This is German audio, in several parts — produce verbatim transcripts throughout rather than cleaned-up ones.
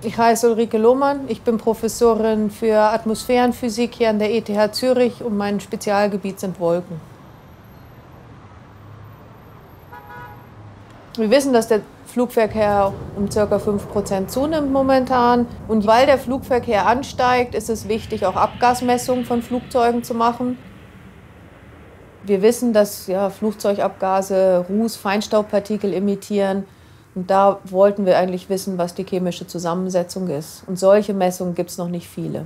Ich heiße Ulrike Lohmann, ich bin Professorin für Atmosphärenphysik hier an der E T H Zürich und mein Spezialgebiet sind Wolken. Wir wissen, dass der Flugverkehr um ca. fünf Prozent zunimmt momentan. Und weil der Flugverkehr ansteigt, ist es wichtig, auch Abgasmessungen von Flugzeugen zu machen. Wir wissen, dass ja, Flugzeugabgase Ruß, Feinstaubpartikel emittieren. Und da wollten wir eigentlich wissen, was die chemische Zusammensetzung ist. Und solche Messungen gibt es noch nicht viele.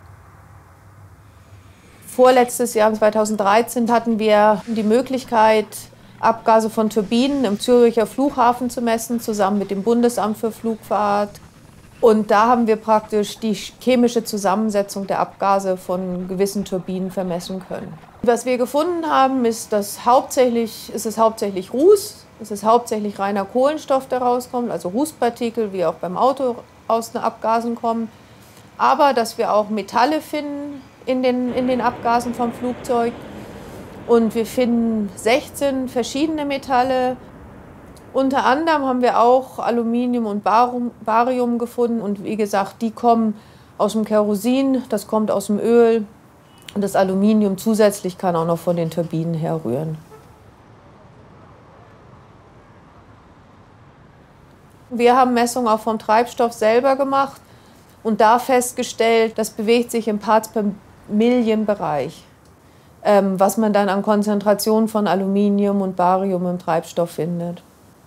Vorletztes Jahr, zweitausenddreizehn, hatten wir die Möglichkeit, Abgase von Turbinen im Züricher Flughafen zu messen, zusammen mit dem Bundesamt für Flugfahrt. Und da haben wir praktisch die chemische Zusammensetzung der Abgase von gewissen Turbinen vermessen können. Was wir gefunden haben, ist, dass hauptsächlich, ist es hauptsächlich Ruß. Es ist hauptsächlich reiner Kohlenstoff, der rauskommt, also Rußpartikel, wie auch beim Auto aus den Abgasen kommen. Aber dass wir auch Metalle finden in den, in den Abgasen vom Flugzeug. Und wir finden sechzehn verschiedene Metalle. Unter anderem haben wir auch Aluminium und Barium gefunden. Und wie gesagt, die kommen aus dem Kerosin, das kommt aus dem Öl. Und das Aluminium zusätzlich kann auch noch von den Turbinen herrühren. Wir haben Messungen auch vom Treibstoff selber gemacht und da festgestellt, das bewegt sich im Parts per Million Bereich, ähm, was man dann an Konzentrationen von Aluminium und Barium im Treibstoff findet.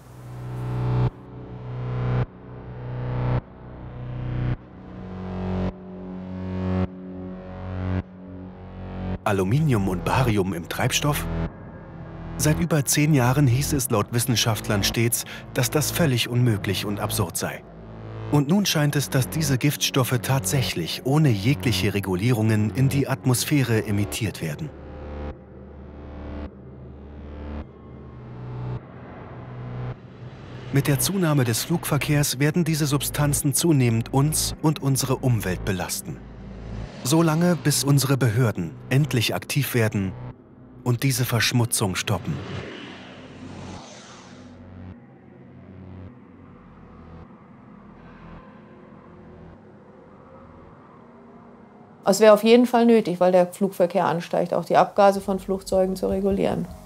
Aluminium und Barium im Treibstoff? Seit über zehn Jahren hieß es laut Wissenschaftlern stets, dass das völlig unmöglich und absurd sei. Und nun scheint es, dass diese Giftstoffe tatsächlich ohne jegliche Regulierungen in die Atmosphäre emittiert werden. Mit der Zunahme des Flugverkehrs werden diese Substanzen zunehmend uns und unsere Umwelt belasten. Solange, bis unsere Behörden endlich aktiv werden und diese Verschmutzung stoppen. Es wäre auf jeden Fall nötig, weil der Flugverkehr ansteigt, auch die Abgase von Flugzeugen zu regulieren.